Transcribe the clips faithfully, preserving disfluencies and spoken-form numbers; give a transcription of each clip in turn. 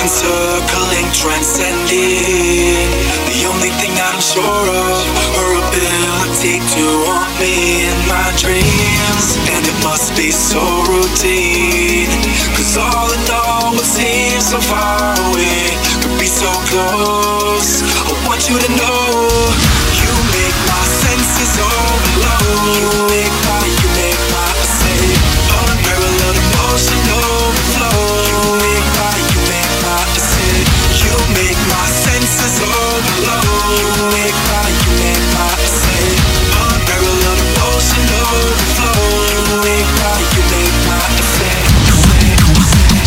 Circling, transcending. The only thing I'm sure of, her ability to haunt me in my dreams. And it must be so routine, cause all in all what seems so far away could be so close. I want you to know, you make my senses overload. You make my, you make my, I say, unparalleled emotional flow. You make my, you make my, I say, you make my senses overload. You make my, you make my, I say, unparalleled emotional flow. You make my, you make my, I say, say, say.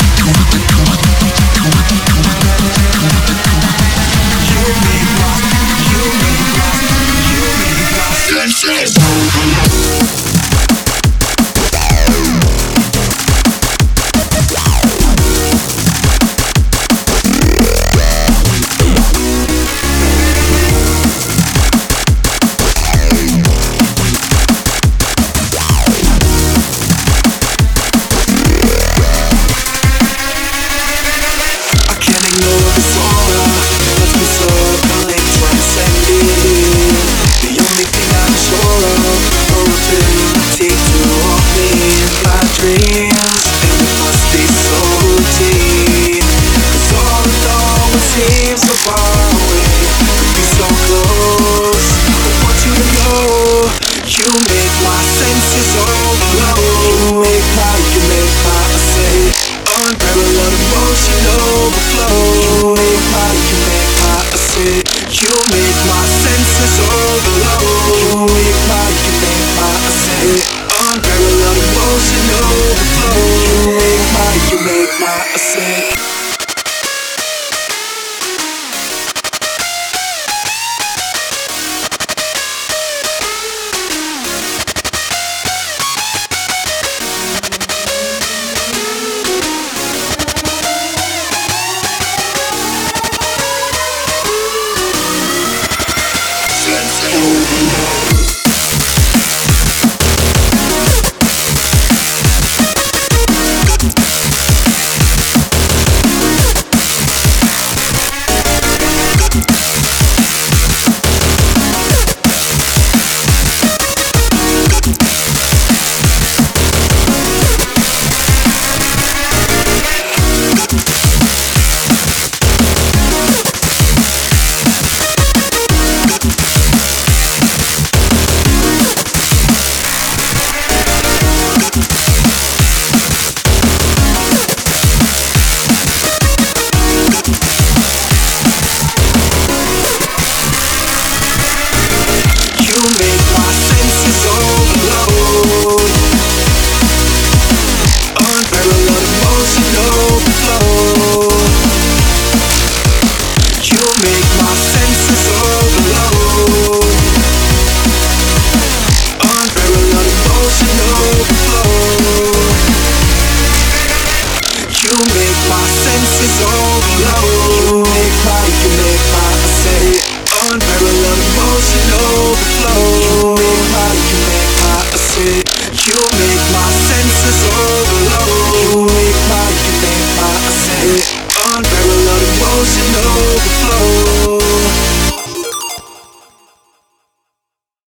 You make my, you make my, you make my senses overload. Unparalleled emotional